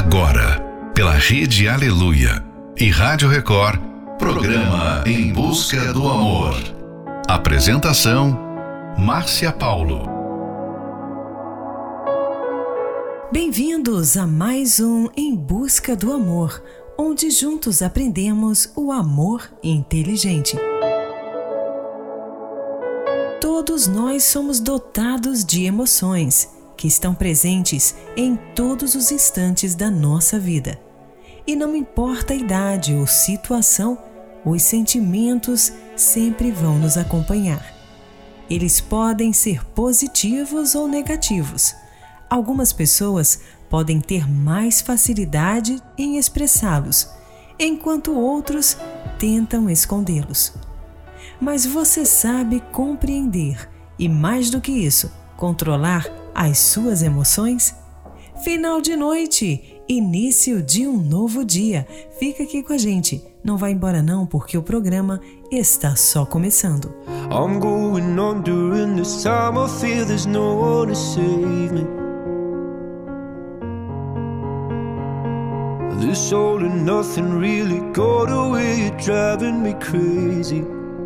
Agora, pela Rede Aleluia e Rádio Record, programa Em Busca do Amor. Apresentação, Márcia Paulo. Bem-vindos a mais um Em Busca do Amor, onde juntos aprendemos o amor inteligente. Todos nós somos dotados de emoções que estão presentes em todos os instantes da nossa vida. E não importa a idade ou situação, os sentimentos sempre vão nos acompanhar. Eles podem ser positivos ou negativos. Algumas pessoas podem ter mais facilidade em expressá-los, enquanto outros tentam escondê-los. Mas você sabe compreender e, mais do que isso, controlar as suas emoções? Final de noite, início de um novo dia. Fica aqui com a gente. Não vai embora não, porque o programa está só começando. I'm going on during this time. I feel there's no one to save me. This all and nothing really got away. You're driving me crazy.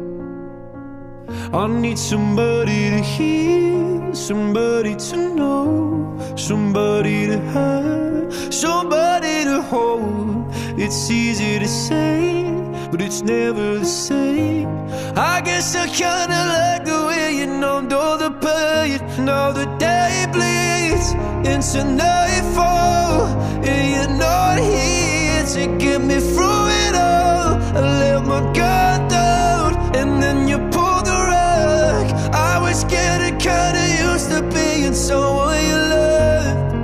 I need somebody to hear, somebody to know, somebody to have, somebody to hold. It's easy to say, but it's never the same. I guess I kinda like the way you numbed all the pain. Now the day bleeds into nightfall, and you're not here to get me through it all. I let my guard down, and then you pulled the rug. I was getting kinda used to being someone you loved.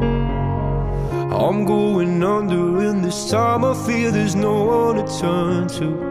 I'm going under, and this time I feel there's no one to turn to.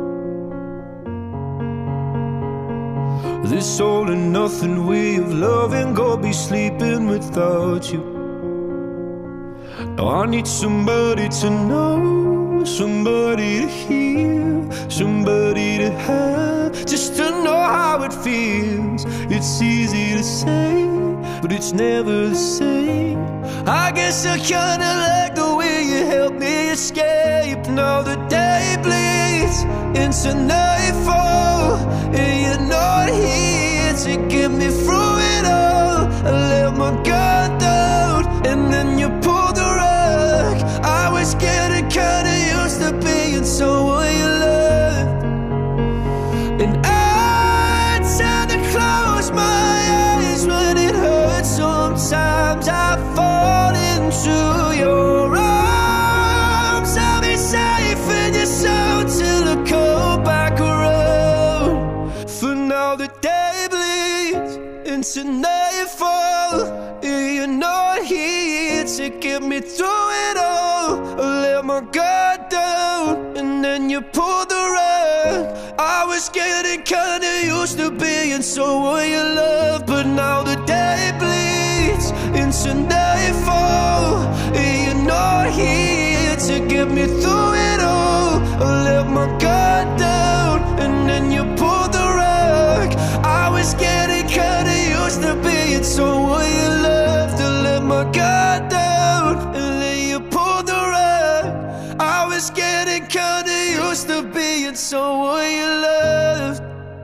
This all and nothing way of loving, go be sleeping without you. Now I need somebody to know, somebody to hear, somebody to have, just to know how it feels. It's easy to say, but it's never the same. I guess I kinda like the way you help me escape. Now the day bleeds into nightfall, and you're not here to get me through it all. I let my guard down, and then you pulled the rug. I was getting kinda used to being someone you loved. And I tend to close my eyes when it hurts. Sometimes I fall into your arms. I'll be safe in your soul till I come back around. For now the day bleeds into nightfall, and you're not here to get me through it all. I let my guard down, and then you pulled the rug. I was getting kinda used to being someone you love, but now the day bleeds into nightfall, and you're not here to get me through it all. I let my guard down, and then you pulled the rug. I was getting kinda used to being someone you loved. I let my guard down, and then you pulled the rug. I was getting kinda used to being someone you loved.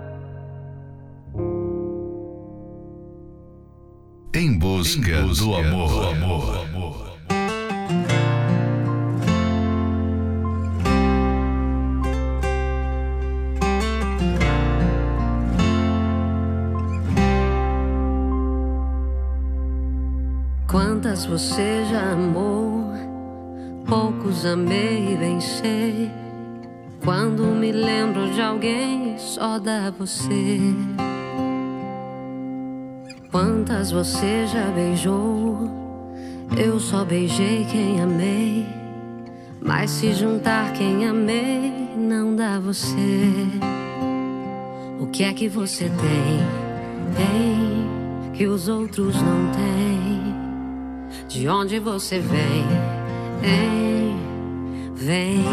Em busca do amor. Quantas você já amou, poucos amei e bem sei. Quando me lembro de alguém, só dá você. Quantas você já beijou, eu só beijei quem amei. Mas se juntar quem amei, não dá você. O que é que você tem que os outros não têm? De onde você vem, vem.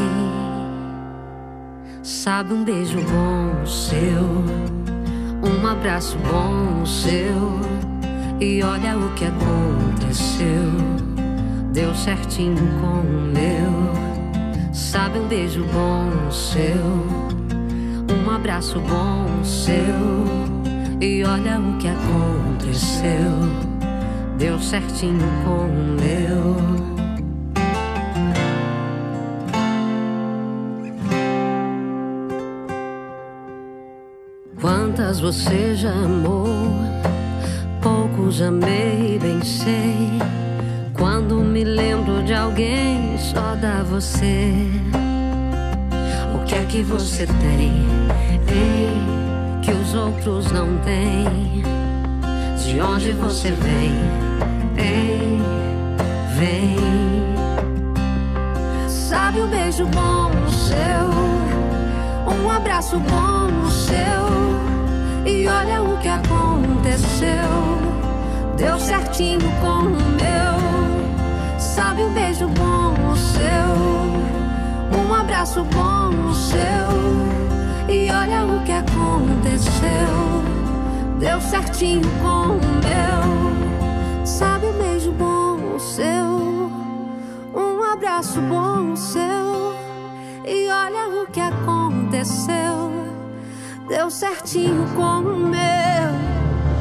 Sabe, um beijo bom seu, um abraço bom seu, e olha o que aconteceu. deu certinho com o meu. Sabe, um beijo bom seu, um abraço bom seu, e olha o que aconteceu, deu certinho com o meu. Quantas você já amou, poucos amei, bem sei. Quando me lembro de alguém, só dá você. O que é que você tem, hein, que os outros não têm? De onde você vem, hein, vem. Sabe, um beijo bom seu, um abraço bom seu, e olha o que aconteceu, deu certinho com o meu. Sabe, um beijo bom seu, um abraço bom seu, e olha o que aconteceu, deu certinho com o meu. Sabe, um beijo bom seu, um abraço bom seu, e olha o que aconteceu, deu certinho com o meu.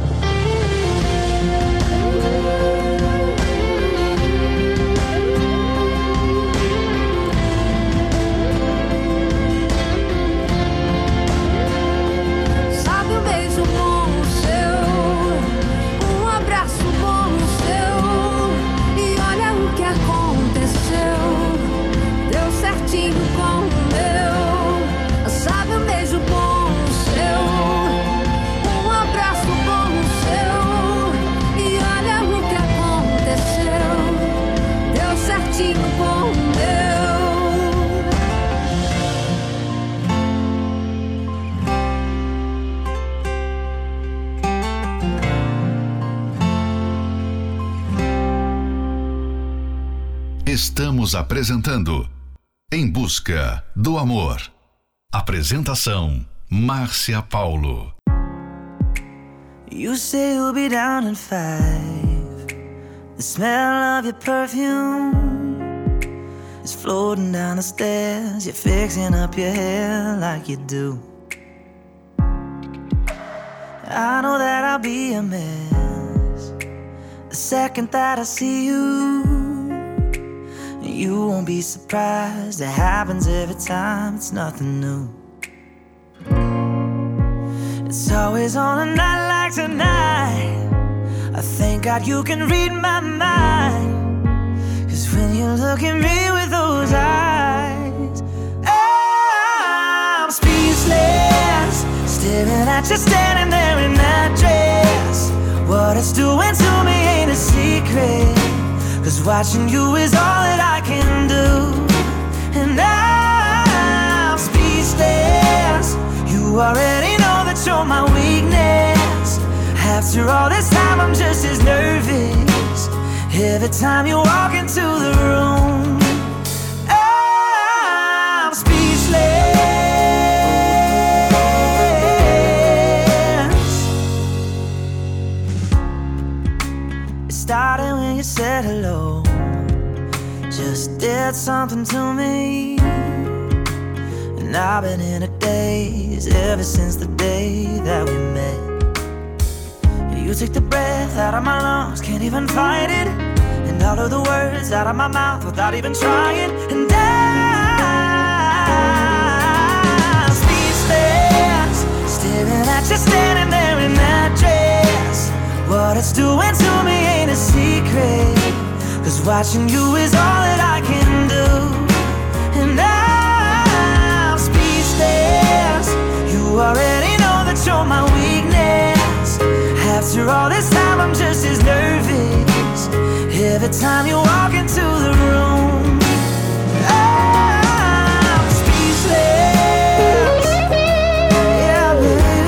Sabe, um beijo bom seu, um abraço bom seu, e olha o que aconteceu, deu certinho com o meu. Sabe, um beijo bom seu, um abraço bom seu, e olha o que aconteceu, deu certinho com o meu. Estamos apresentando Em Busca do Amor. Apresentação Márcia Paulo. You say you'll be down in 5. The smell of your perfume is floating down the stairs. You're fixing up your hair like you do. I know that I'll be a mess the second that I see you. You won't be surprised, it happens every time, it's nothing new. It's always on a night like tonight, I thank God you can read my mind. Cause when you look at me with those eyes, I'm speechless, staring at you standing there in that dress. What it's doing to me ain't a secret, cause watching you is all that I can do. And I'm speechless, you already know that you're my weakness. After all this time I'm just as nervous every time you walk into the room. I'm speechless. It started when you said hello, just did something to me. And I've been in a daze ever since the day that we met. You took the breath out of my lungs, can't even fight it, and all of the words out of my mouth without even trying. And I'm speechless, staring at you standing there in that dress. What it's doing to me ain't a secret, cause watching you is all that I can do. And I'm speechless, you already know that you're my weakness. After all this time I'm just as nervous every time you walk into the room. I'm speechless. Yeah, baby.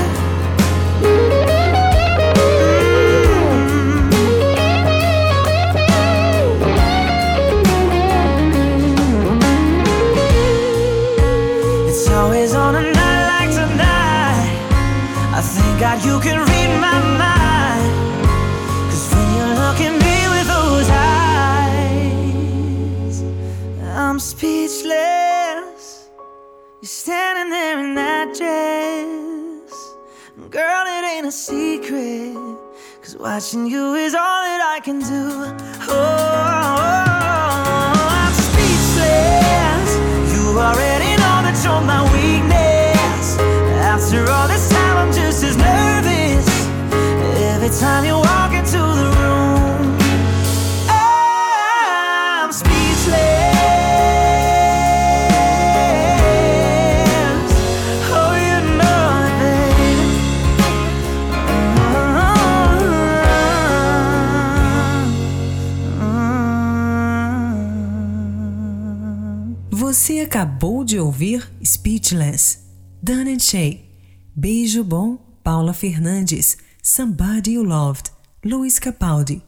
It's always on a night like tonight, I thank God you can read my mind. Cause when you look at me with those eyes, speechless. You're standing there in that dress. Girl, it ain't a secret, 'cause watching you is all that I can do. I'm speechless. You already know that you're my weakness. After all this time I'm just as nervous every time you walk into the room. I'm speechless. Você acabou de ouvir Speechless, Dan & Shay, Beijo Bom, Paula Fernandes, Somebody You Loved, Luiz Capaldi.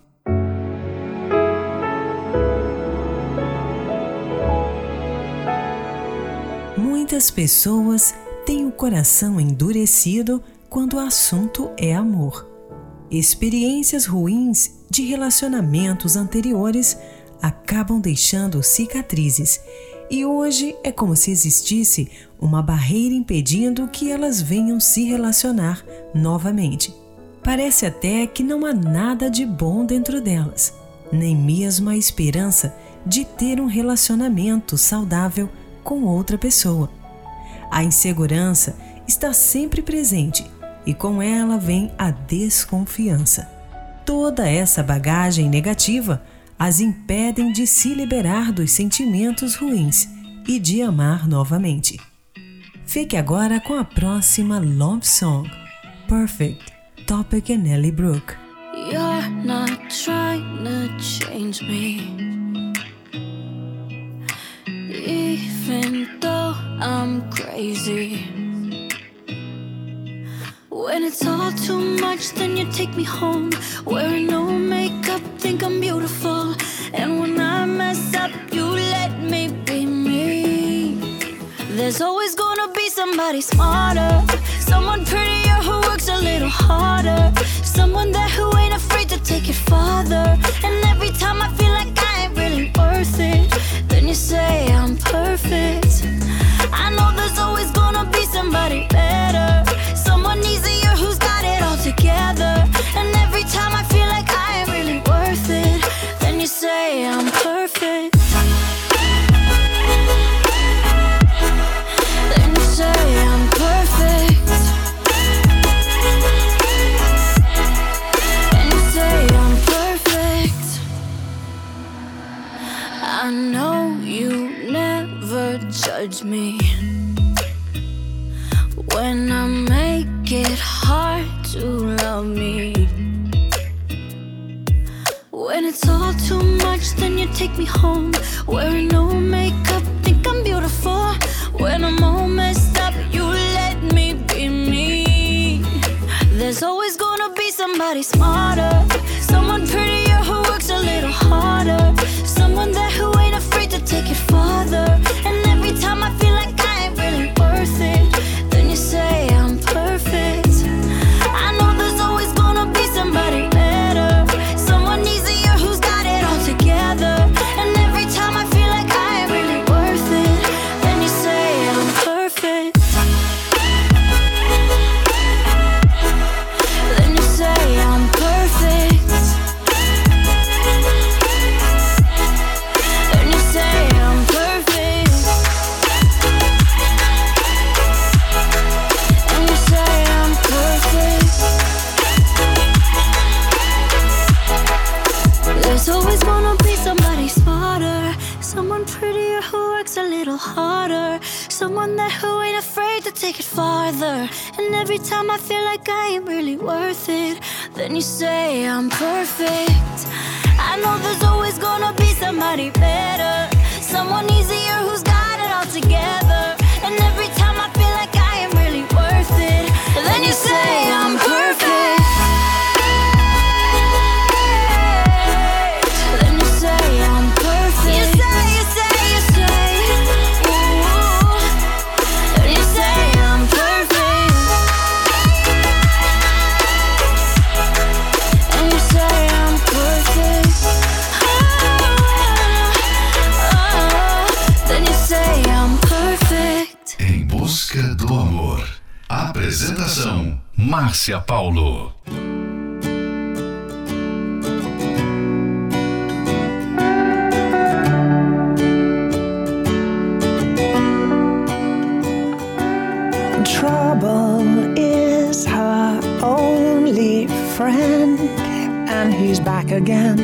Muitas pessoas têm o coração endurecido quando o assunto é amor. Experiências ruins de relacionamentos anteriores acabam deixando cicatrizes, e hoje é como se existisse uma barreira impedindo que elas venham se relacionar novamente. Parece até que não há nada de bom dentro delas, nem mesmo a esperança de ter um relacionamento saudável com outra pessoa. A insegurança está sempre presente e com ela vem a desconfiança. Toda essa bagagem negativa as impedem de se liberar dos sentimentos ruins e de amar novamente. Fique agora com a próxima Love Song, Perfect, Topic and Nelly Brooke. You're not trying to change me, even though I'm crazy. When it's all too much, then you take me home, wearing no makeup, think I'm beautiful. And when I mess up, you let me be me. There's always gonna be somebody smarter, someone prettier who works a little harder, someone there who ain't afraid to take it farther. And every time I feel like I ain't really worth it, then you say I'm perfect. I know there's always gonna be somebody better, someone easier who's got it all together. And every time I feel like I ain't really worth it, then you say I'm perfect. Then you say I'm perfect. Then you say I'm perfect. I know you never judge me when I make it hard to love me. When it's all too much, then you take me home, wearing no makeup, think I'm beautiful. When I'm all messed up, you let me be me. There's always gonna be somebody smarter, someone prettier who works a little harder, someone there who ain't afraid to take it farther. And every time I feel like I ain't really worth it, then you say I'm perfect. I know there's always gonna be somebody better, someone easier who's got it all together. And every time I feel like I ain't really worth it, then you say I'm perfect. Then you say I'm perfect. Then you say I'm perfect. And you say I'm perfect. There's always gonna be somebody smarter, someone prettier who works a little harder, someone there who ain't afraid to take it farther. And every time I feel like I ain't really worth it, then you say I'm perfect. I know there's always gonna be somebody better, someone easier who's got it all together. And every time I feel like I ain't really worth it, then you say I'm perfect. Then you say I'm perfect. You say, ooh. Then you say I'm perfect. And you say I'm perfect. Apresentação: Márcia Paulo. Trouble is her only friend, and he's back again.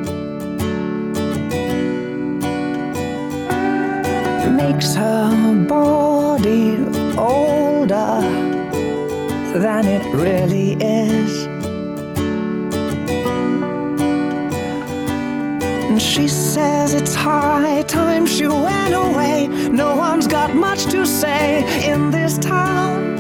Makes her body older than it really is. And she says it's high time she went away. No one's got much to say in this town.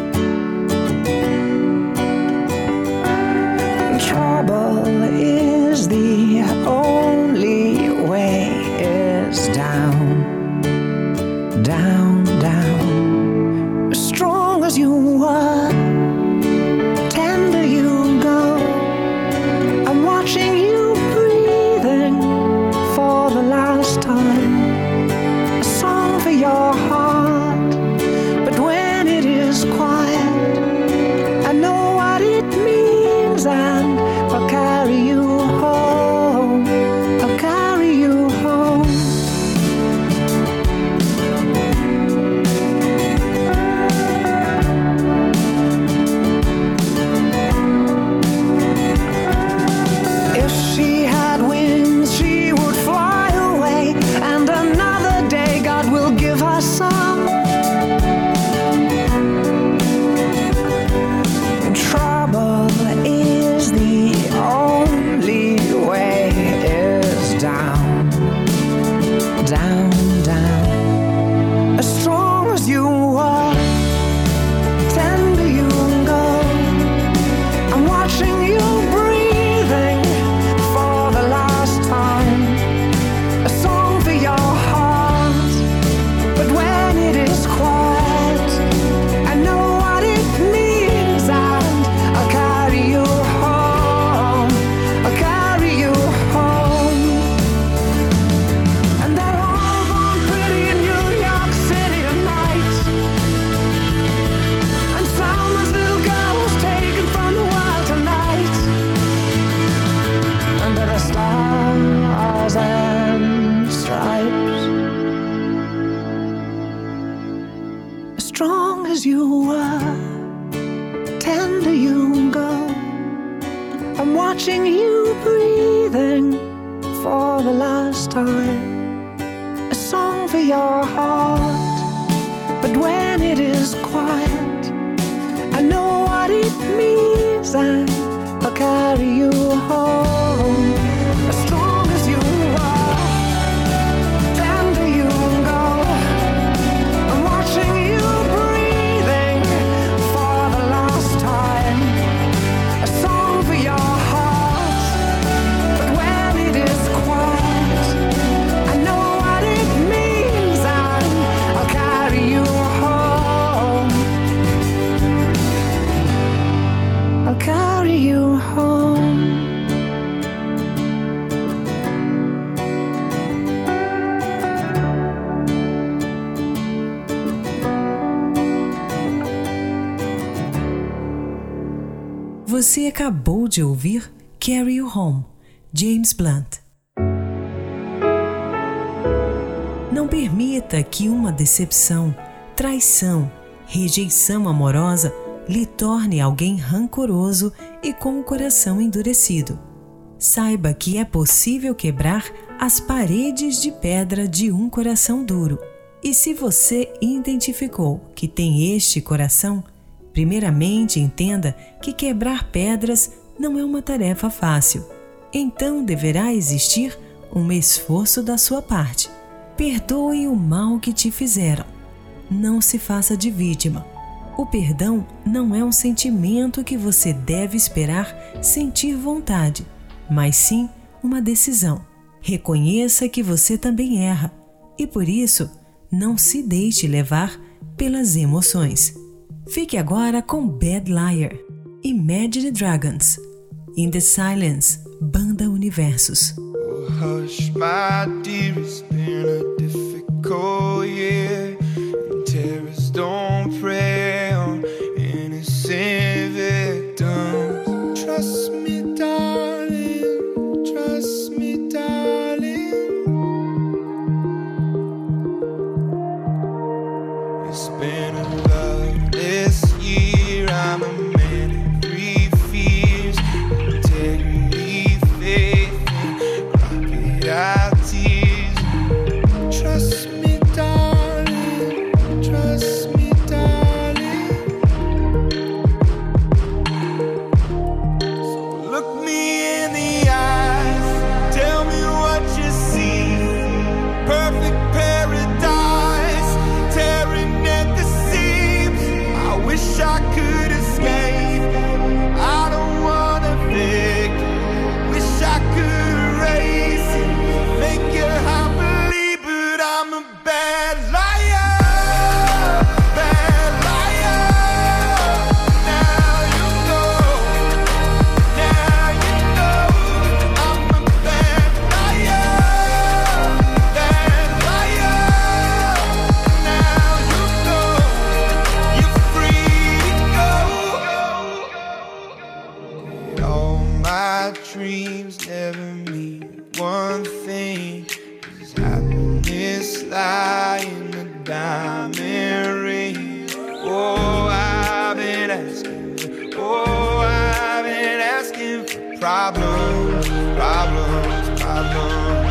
Trouble is the only way is down, down, down. As strong as you were, tender you go. I'm watching you breathing for the last time. A song for your heart, but when it is quiet, I know what it means, and I'll carry you home. I'll carry you home. If she had wings, she would fly away, and another day God will give her some. Trouble is the only way is down, down, down. As strong as you are, tender you go. I'm watching you breathing for the last time. A song for your heart, but when it is quiet, I know what it means, and I'll carry you home. I'll carry you home. And they're all born pretty in New York City tonight. And someone's little girl was taken from the world tonight. Under the stars and stripes. As strong as you were, tender you go. I'm watching you breathing for the last time. A song for your heart, but when it is quiet, I know what it means, and I'll carry you home. As strong as you are, tender you go. I'm watching you breathing for the last time. A song for your heart, but when it is quiet, I know what it means, and I'll carry you home. I'll carry you home. Você acabou de ouvir Carry You Home, James Blunt. Não permita que uma decepção, traição, rejeição amorosa lhe torne alguém rancoroso e com o coração endurecido. Saiba que é possível quebrar as paredes de pedra de um coração duro. E se você identificou que tem este coração, primeiramente entenda que quebrar pedras não é uma tarefa fácil. Então deverá existir um esforço da sua parte. Perdoe o mal que te fizeram. Não se faça de vítima. O perdão não é um sentimento que você deve esperar sentir vontade, mas sim uma decisão. Reconheça que você também erra e, por isso, não se deixe levar pelas emoções. Fique agora com Bad Liar, Imagine Dragons, In the Silence, Banda Universos. Oh, hush, my dear, it's been a difficult year, and terrorists don't prey on me one thing. Does happiness lie in a diamond ring? Oh, I've been asking. Oh, I've been asking for problems, problems, problems.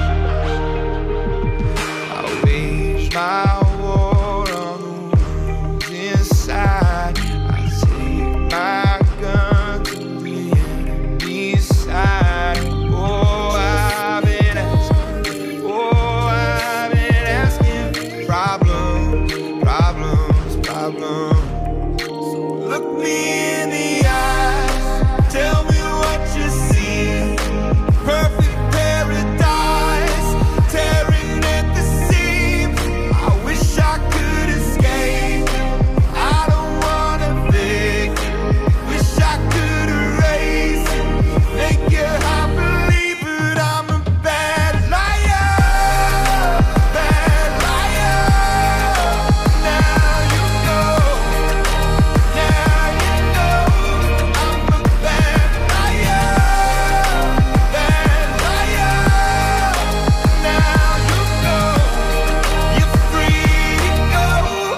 I wage my war on the wounds inside. I take my gun to the enemy's side. Oh, I've been asking. Oh, I've been asking for problems, problems, problems. So look me in the eyes. Tell me what you see. Perfect paradise, tearing at the seams. I wish I could escape. I don't wanna fake. Wish I could erase it. Make your heart believe, but I'm a bad liar. Bad liar. Now you know. Now you know. I'm a bad liar. Bad liar. Now you know. You're free to go.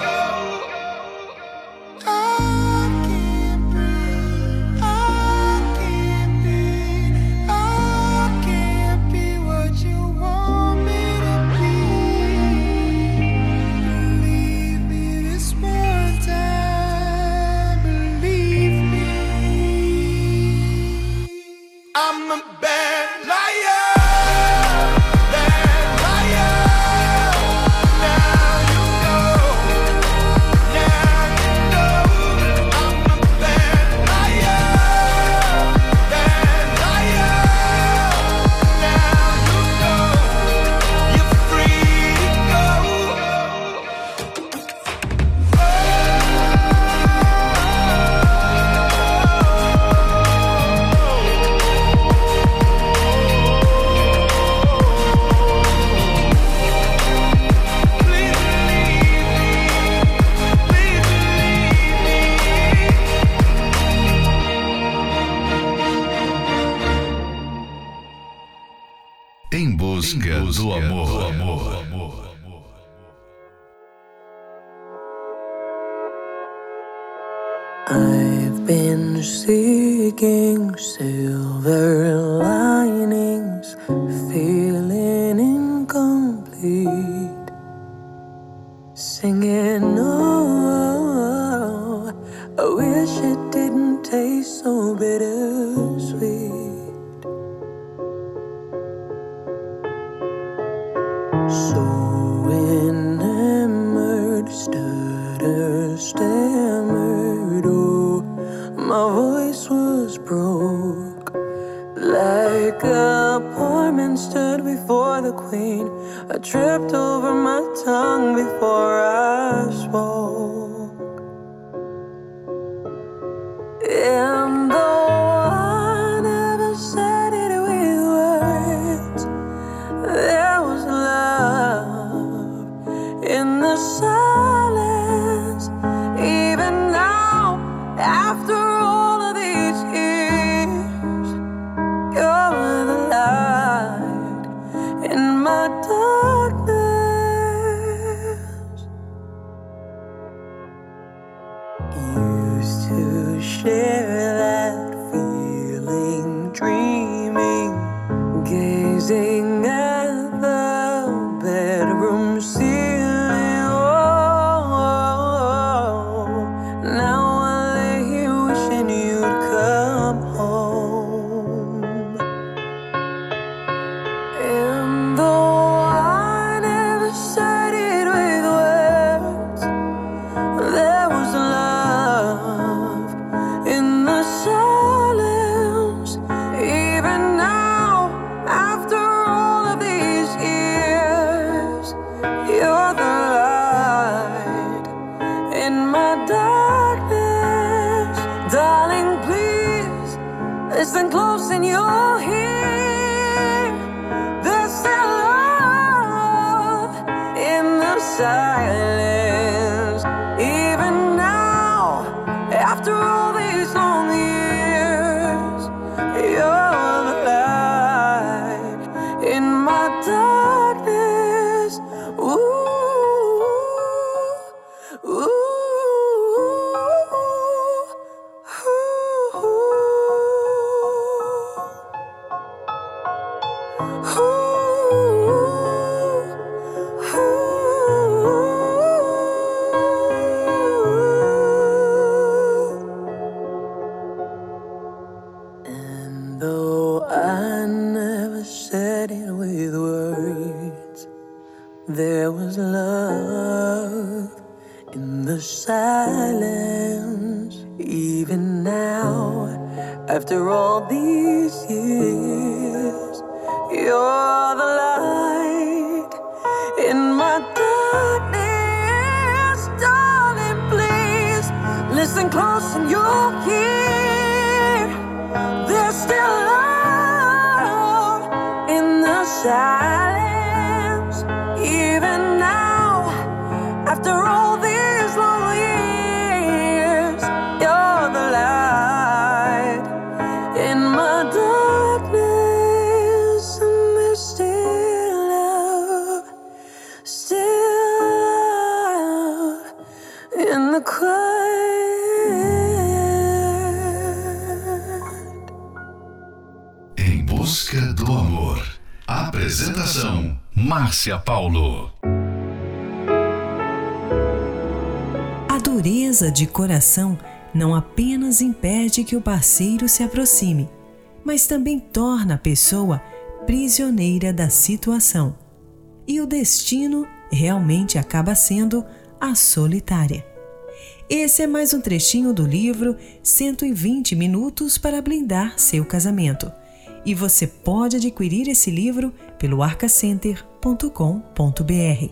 I can't breathe. I can't be. I can't be what you want me to be. Believe me this one time. Believe me. I'm a bad liar. Bad liar. Now you know. Now you know. I'm a bad liar. Bad liar. Now you know. You're free to go. Please believe me. Please believe me. Em busca do amor. I've been seeking silver linings, feeling incomplete. Singing, oh, I wish it didn't taste so bittersweet. So enamored, stutter, stammered, oh, my voice was broke. Like a poor man stood before the queen, I tripped over my tongue before I spoke. And though I never said it with words, there was love in the silence. Even now, after all of these years, you're the light in my darkness. Used to share that feeling, dreaming, gazing at the bedroom ceiling. Oh, now I lay here wishing you'd come home. And though I never said it with words, there was love in the silence. Even now, after all of There was love in the silence. Even now, after all these years, you're the light in my darkness. Darling, please listen close and you'll hear there's still love in the silence. Even now, after all these long years, you're the light in my darkness. And there's still love in the quiet. Em busca do amor. Apresentação: Márcia Paulo. A dureza de coração não apenas impede que o parceiro se aproxime, mas também torna a pessoa prisioneira da situação. E o destino realmente acaba sendo a solitária. Esse é mais um trechinho do livro 120 Minutos para Blindar Seu Casamento. E você pode adquirir esse livro pelo arcacenter.com.br.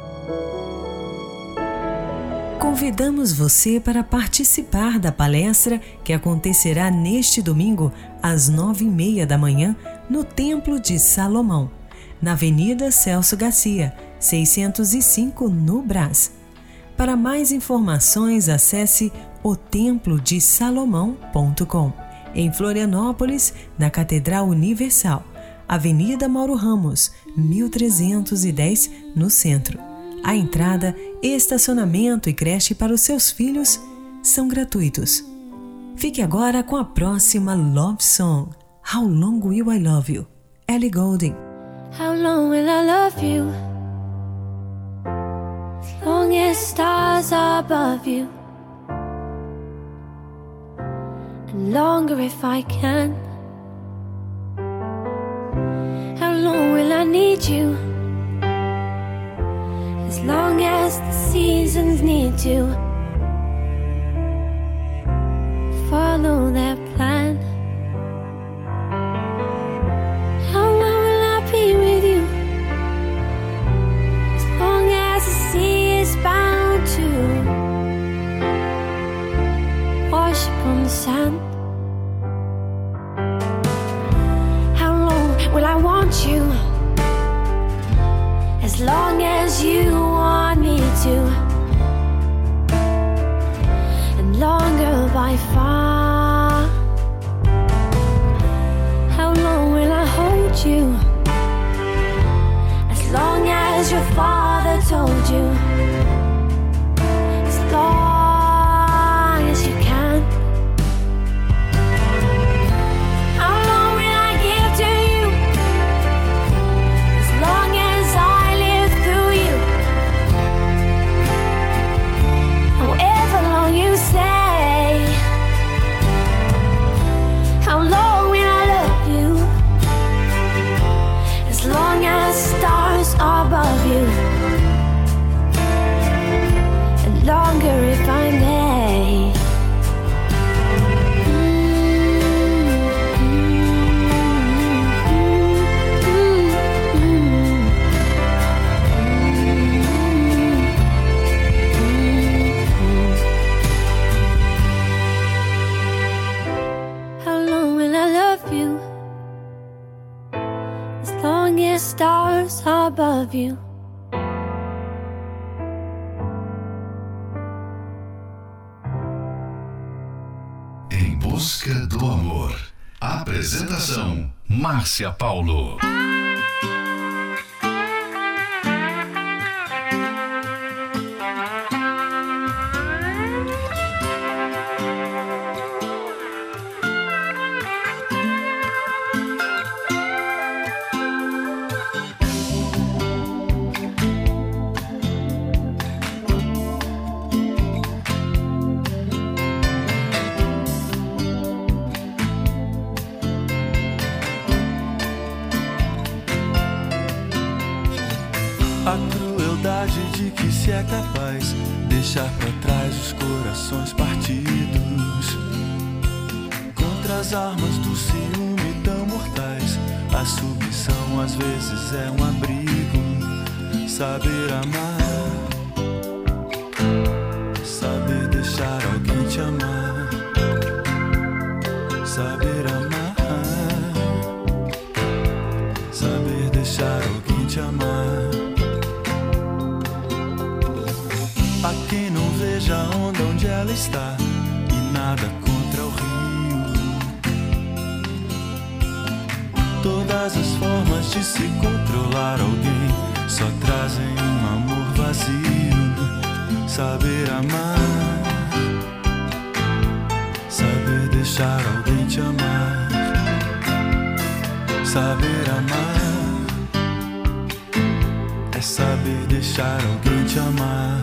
Convidamos você para participar da palestra que acontecerá neste domingo às 9h30 da manhã no Templo de Salomão, na Avenida Celso Garcia, 605, no Brás. Para mais informações, acesse otemplodesalomão.com. Em Florianópolis, na Catedral Universal, Avenida Mauro Ramos, 1310, no centro. A entrada, estacionamento e creche para os seus filhos são gratuitos. Fique agora com a próxima Love Song, How Long Will I Love You? Ellie Goulding. How long will I love you? As long as stars are above you. And longer if I can. How long will I need you? As long as the seasons need to follow their plan. How long will I be with you? As long as the sea is bound to wash upon the sand. How long will I want you? As long as you want me to, and longer by far. How long will I hold you? As long as your father told you. As long as you can. How long will I give to you? As long as I live through you. However long you say. How long will I love you? As long as stars are above you. And longer if I may. How long will I love you? As long as stars are above you. Em busca do amor. Apresentação: Márcia Paulo. A crueldade de que se é capaz deixar pra trás os corações partidos. Contra as armas do ciúme tão mortais, a submissão às vezes é um abrigo. Saber amar, saber deixar alguém te amar. Saber amar, saber deixar alguém te amar. A quem não veja a onda onde ela está e nada contra o rio. Todas as formas de se controlar alguém só trazem um amor vazio. Saber amar, saber deixar alguém te amar. Saber amar é saber deixar alguém te amar.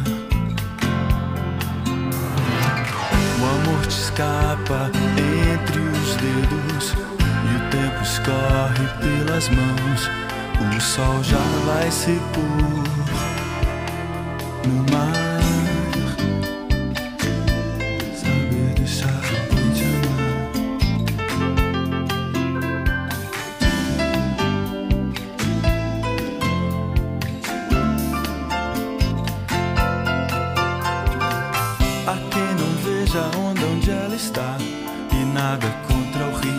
O amor te escapa entre os dedos e o tempo escorre pelas mãos. O sol já vai se pôr no mar. Saber deixar alguém te amar. A quem não veja a onda onde ela está e nada contra o rio.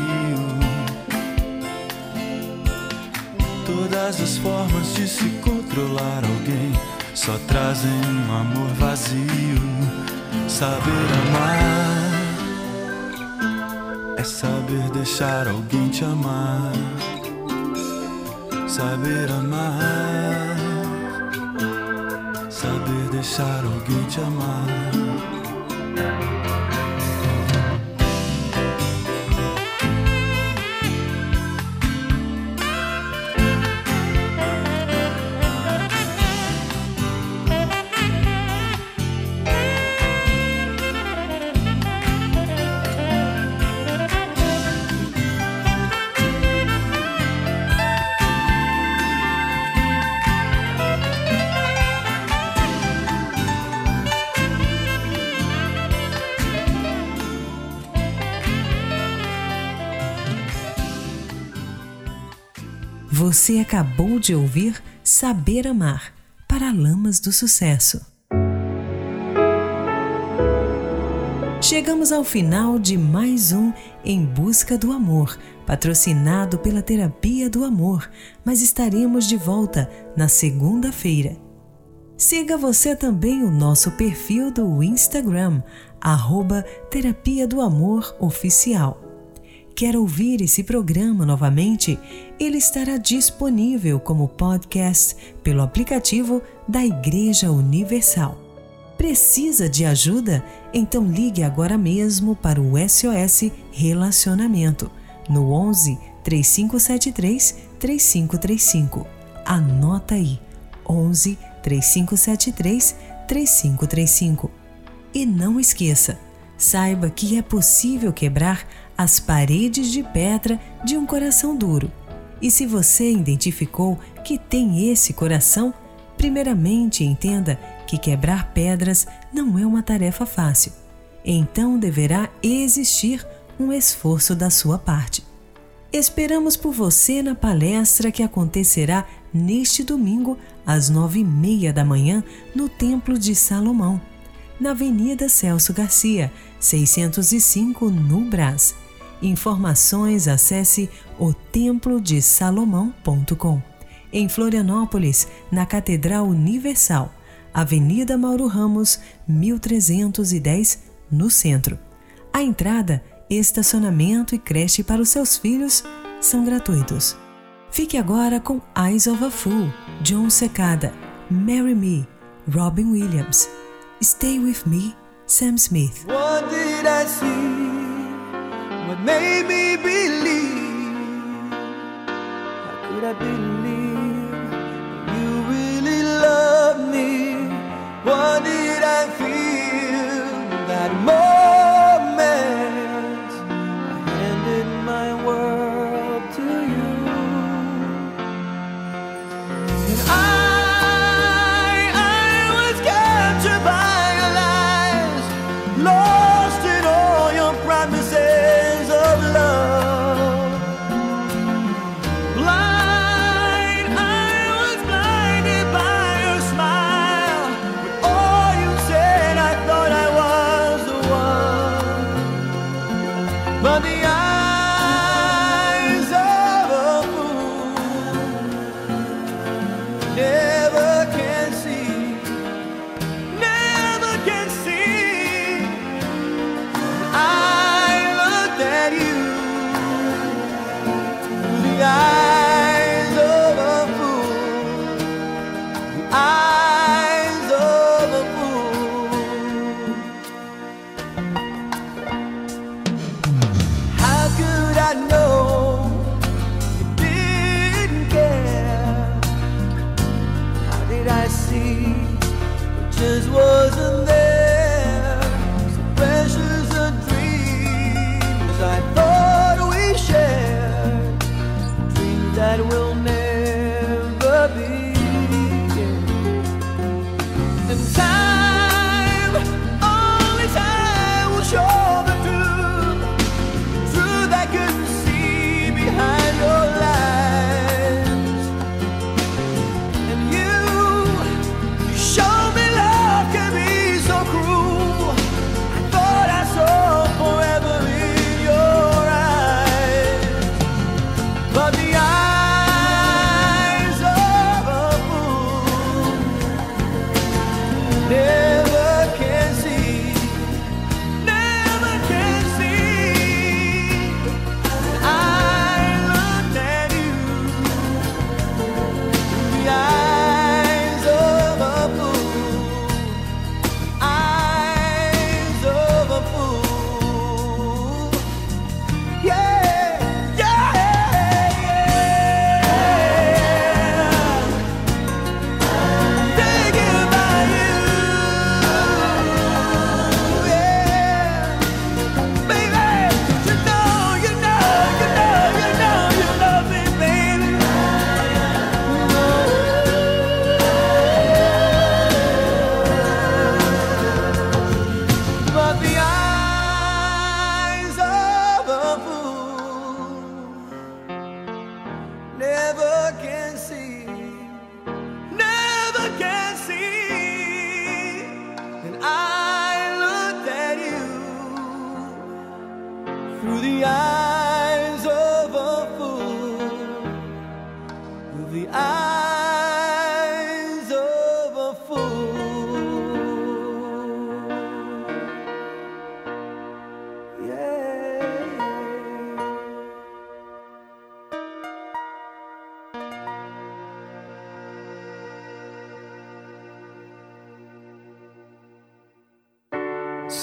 Todas as formas de se controlar alguém só trazem um amor vazio. Saber amar é saber deixar alguém te amar. Saber amar, saber deixar alguém te amar. Você acabou de ouvir Saber Amar, Paralamas do Sucesso. Chegamos ao final de mais um Em Busca do Amor, patrocinado pela Terapia do Amor, mas estaremos de volta na segunda-feira. Siga você também o nosso perfil do Instagram, @Terapia do Amor Oficial. Quer ouvir esse programa novamente? Ele estará disponível como podcast pelo aplicativo da Igreja Universal. Precisa de ajuda? Então ligue agora mesmo para o SOS Relacionamento no 11 3573 3535. Anota aí, 11 3573 3535. E não esqueça, saiba que é possível quebrar as paredes de pedra de um coração duro. E se você identificou que tem esse coração, primeiramente entenda que quebrar pedras não é uma tarefa fácil. Então deverá existir um esforço da sua parte. Esperamos por você na palestra que acontecerá neste domingo às 9h30 da manhã no Templo de Salomão, na Avenida Celso Garcia, 605, no Brás. Informações, acesse otemplodesalomão.com. Em Florianópolis, na Catedral Universal, Avenida Mauro Ramos, 1310, no centro. A entrada, estacionamento e creche para os seus filhos são gratuitos. Fique agora com Eyes of a Fool, John Secada, Marry Me, Robin Williams, Stay With Me, Sam Smith. What did I see? What made me believe? How could I believe you really love me? What did I feel that moment? I handed my world to you, and I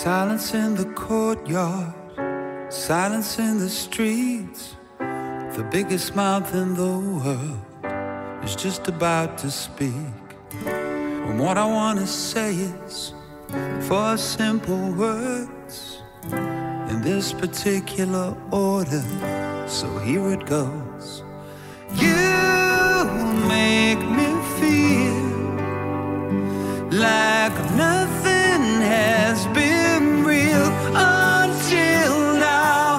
Silence in the courtyard, silence in the streets. The biggest mouth in the world is just about to speak. And what I want to say is 4 simple words in this particular order. So here it goes. You make me feel like nothing has been real until now.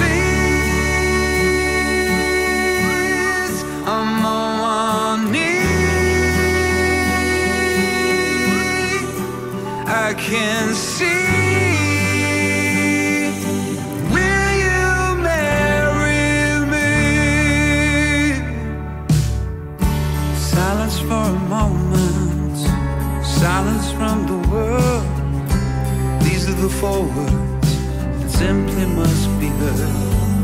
Please, I'm on one knee. I can see. Will you marry me? Silence for a moment, silence from the world. These are the 4 words that simply must be heard.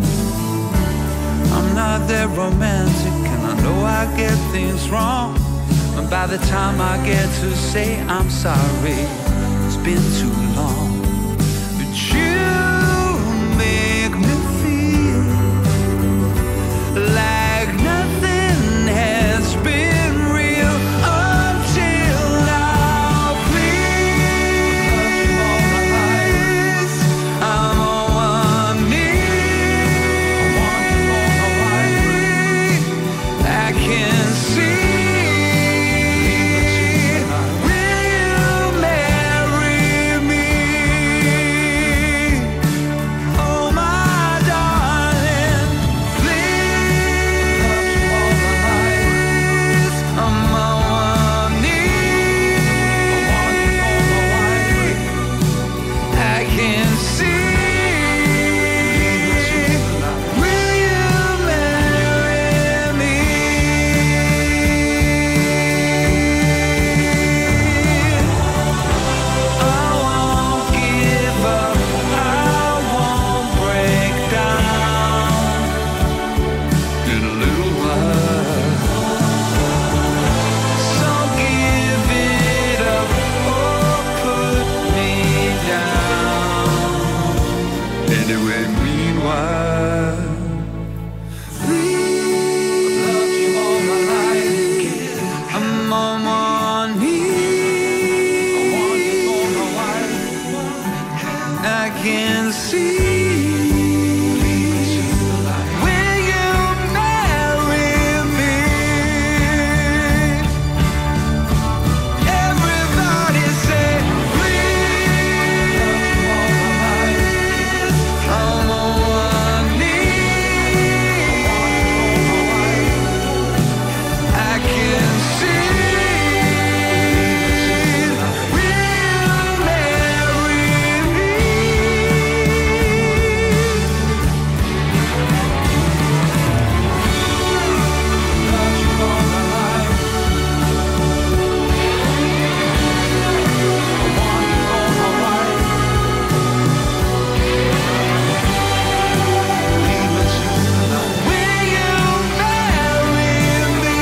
I'm not that romantic, and I know I get things wrong. And by the time I get to say I'm sorry, it's been too long. But you make me feel like nothing has been real until now. Please, I'm on one knee. I can see. Will you marry me? Oh my darling, please, I'm on one knee. I can see. Will you marry me? I won't give up, I won't break down in a little while. So give it up or put me down. Anyway, meanwhile, please, I've loved you all my life. I'm on one knee. I want you for my wife. I can see. Will you marry me? Everybody say, please. I'm on one knee. I can see. Will you marry me? Loved you all my life. I want you for my wife. Leave me soon tonight. Will you marry me?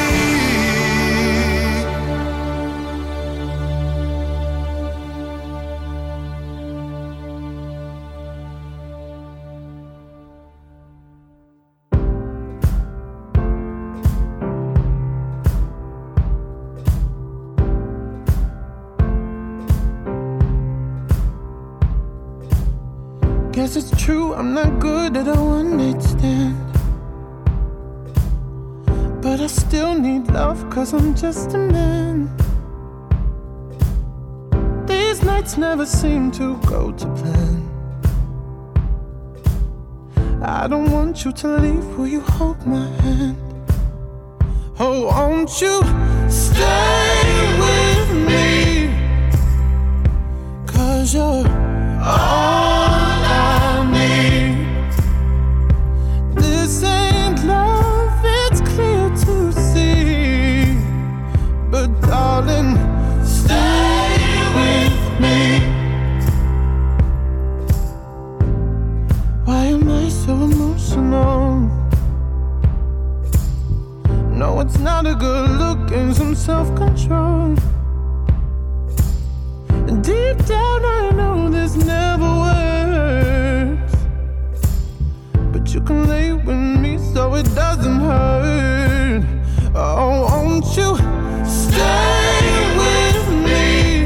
Guess it's true, I'm not good at a one-night stand. But I still need love, cause I'm just a man. These nights never seem to go to plan. I don't want you to leave, will you hold my hand? Oh, won't you stay with me? Cause you're all I need. This ain't love, it's clear to see. But darling, stay with me. Why am I so emotional? No, it's not a good look and some self-control. Deep down I know this never works, but you can lay with me so it doesn't hurt. Oh, won't you stay with me?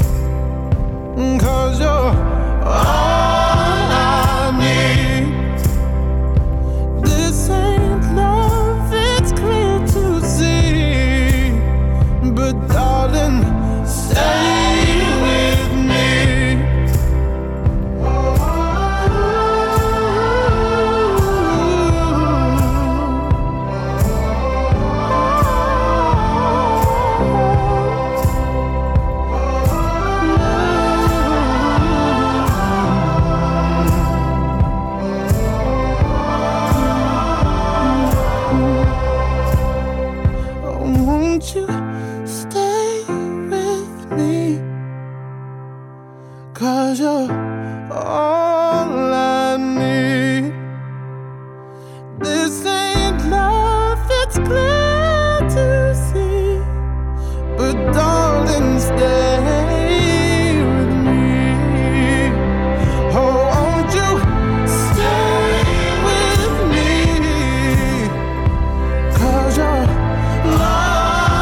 'Cause you're all I need. This ain't love, it's clear to see, but darling, stay with me. Won't you stay with me? 'Cause you're all I need. This ain't love, it's clear to see, but darling, stay with me. Oh, won't you stay with me? 'Cause you're all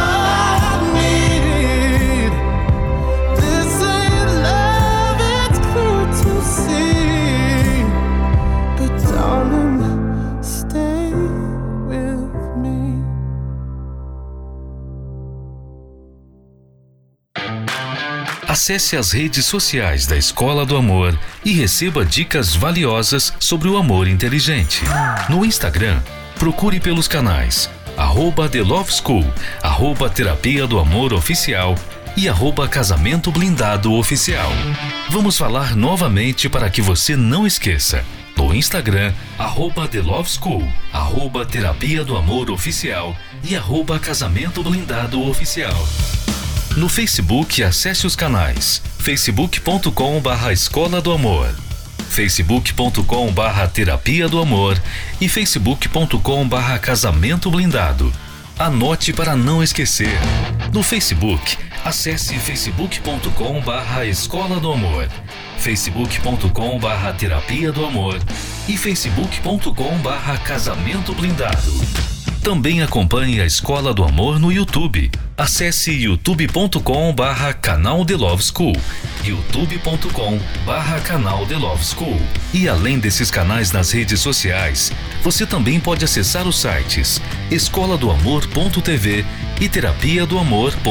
Acesse as redes sociais da Escola do Amor e receba dicas valiosas sobre o amor inteligente. No Instagram, procure pelos canais @The Love School, @Terapia do Amor Oficial e @Casamento Blindado Oficial. Vamos falar novamente para que você não esqueça. No Instagram, @The Love School, @Terapia do Amor Oficial e @Casamento Blindado Oficial. No Facebook, acesse os canais facebook.com/Escola do Amor, facebook.com/Terapia do Amor e facebook.com/Casamento Blindado. Anote para não esquecer. No Facebook, acesse facebook.com/Escola do Amor, facebook.com/Terapia do Amor e facebook.com/Casamento Blindado. Também acompanhe a Escola do Amor no YouTube. Acesse youtube.com/canal The Love School, youtube.com/canal The Love School. E além desses canais nas redes sociais, você também pode acessar os sites escoladoamor.tv e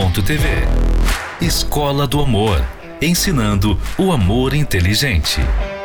terapiadoamor.tv. Escola do Amor, ensinando o amor inteligente.